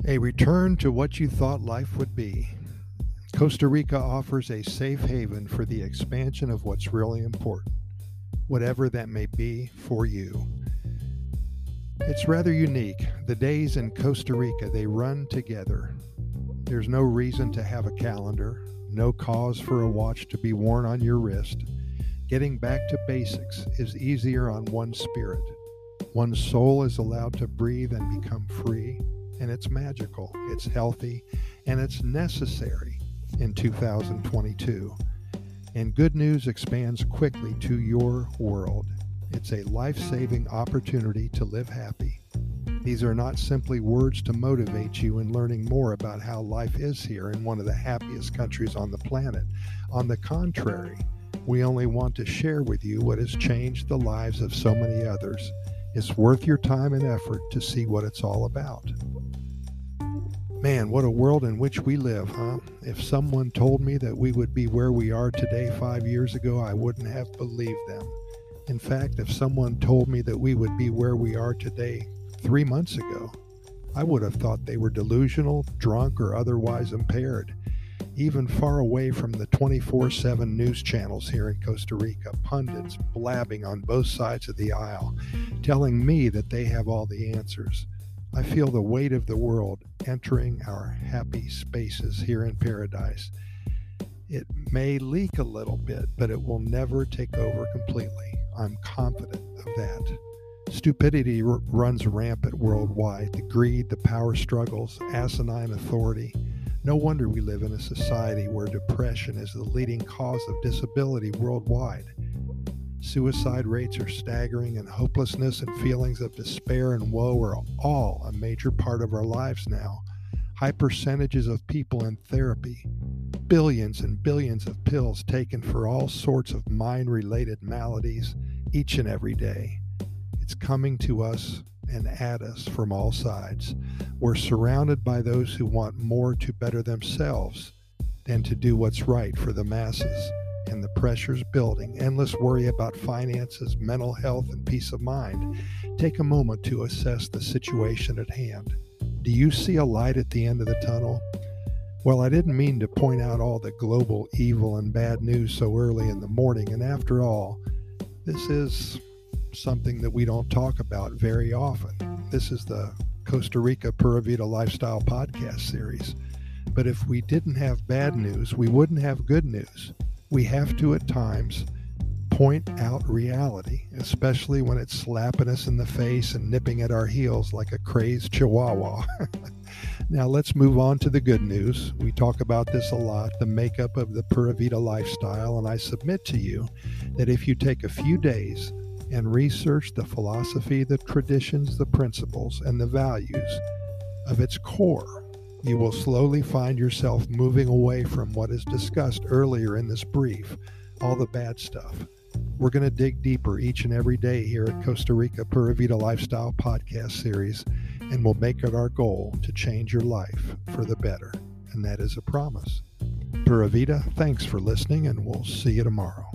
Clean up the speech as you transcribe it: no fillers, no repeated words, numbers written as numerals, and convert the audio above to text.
A return to what you thought life would be. Costa Rica offers a safe haven for the expansion of what's really important, whatever that may be for you. It's rather unique. The days in Costa Rica, they run together. There's no reason to have a calendar, no cause for a watch to be worn on your wrist. Getting back to basics is easier on one's spirit. One's soul is allowed to breathe and become free, and it's magical, it's healthy, and it's necessary in 2022. And good news expands quickly to your world. It's a life-saving opportunity to live happy. These are not simply words to motivate you in learning more about how life is here in one of the happiest countries on the planet. On the contrary, we only want to share with you what has changed the lives of so many others. It's worth your time and effort to see what it's all about. Man, what a world in which we live, huh? If someone told me that we would be where we are today 5 years ago, I wouldn't have believed them. In fact, if someone told me that we would be where we are today 3 months ago, I would have thought they were delusional, drunk, or otherwise impaired. Even far away from the 24/7 news channels here in Costa Rica, pundits blabbing on both sides of the aisle, telling me that they have all the answers. I feel the weight of the world entering our happy spaces here in paradise. It may leak a little bit, but it will never take over completely. I'm confident of that. Stupidity runs rampant worldwide. The greed, the power struggles, asinine authority. No wonder we live in a society where depression is the leading cause of disability worldwide. Suicide rates are staggering, and hopelessness and feelings of despair and woe are all a major part of our lives now. High percentages of people in therapy, billions and billions of pills taken for all sorts of mind-related maladies each and every day. It's coming to us and at us from all sides. We're surrounded by those who want more to better themselves than to do what's right for the masses. And the pressure's building. Endless worry about finances, mental health, and peace of mind. Take a moment to assess the situation at hand. Do you see a light at the end of the tunnel? Well, I didn't mean to point out all the global evil and bad news so early in the morning, and after all, this is something that we don't talk about very often. This is the Costa Rica Pura Vida Lifestyle podcast series. But if we didn't have bad news, we wouldn't have good news. We have to, at times, point out reality, especially when it's slapping us in the face and nipping at our heels like a crazed chihuahua. Now let's move on to the good news. We talk about this a lot, the makeup of the Pura Vida lifestyle, and I submit to you that if you take a few days and research the philosophy, the traditions, the principles, and the values of its core, you will slowly find yourself moving away from what is discussed earlier in this brief, all the bad stuff. We're going to dig deeper each and every day here at Costa Rica Pura Vida Lifestyle podcast series, and we'll make it our goal to change your life for the better. And that is a promise. Pura Vida, thanks for listening, and we'll see you tomorrow.